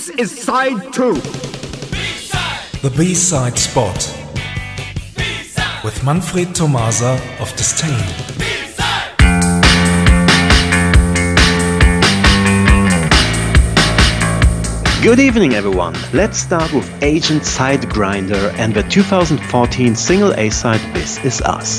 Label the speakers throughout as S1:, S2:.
S1: This is side 2.
S2: B-side. The B-side spot. B-side. With Manfred Tomasa of Disdain.
S3: Good evening, everyone. Let's start with Agent Sidegrinder and the 2014 single A-side This Is Us.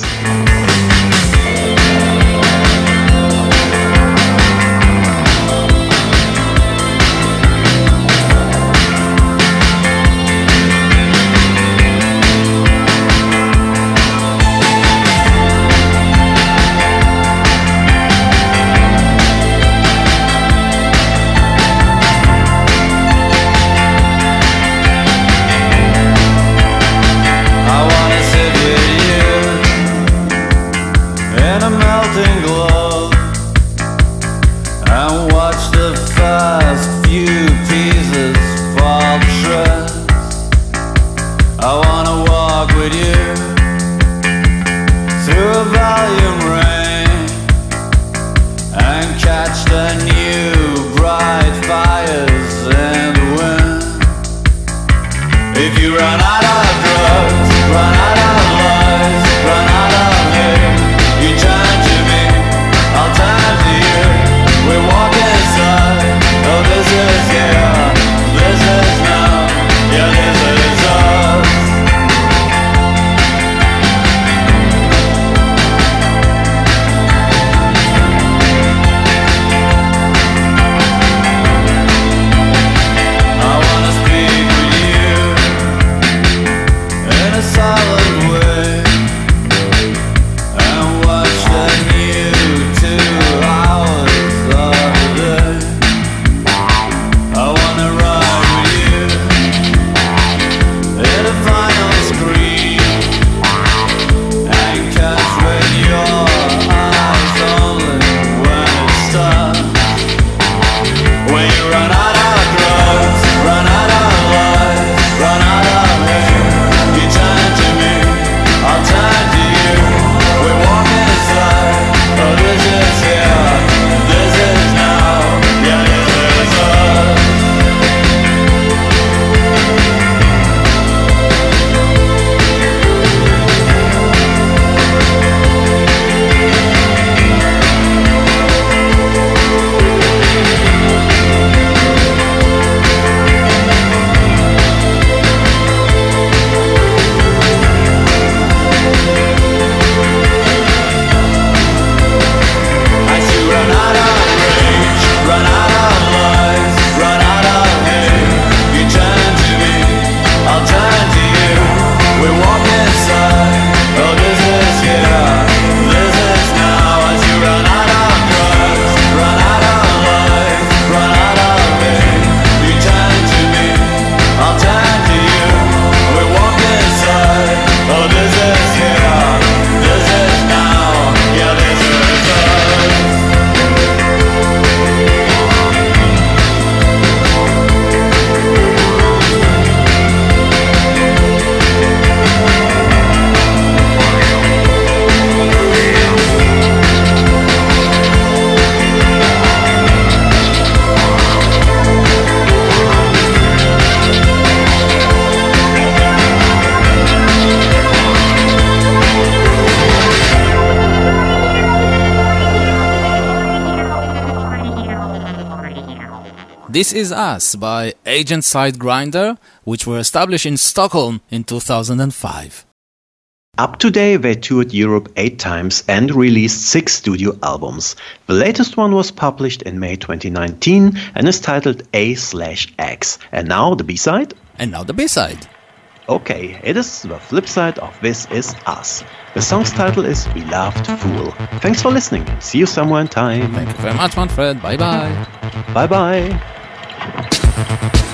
S4: This Is Us by Agent Sidegrinder, which were established in Stockholm in 2005.
S3: Up to date, they toured Europe 8 times and released 6 studio albums. The latest one was published in May 2019 and is titled A/X. And now the B-side?
S4: And now the B-side.
S3: Okay, it is the flip side of This Is Us. The song's title is Beloved Fool. Thanks for listening. See you somewhere in time.
S4: Thank you very much, Manfred. Bye-bye.
S3: Bye-bye.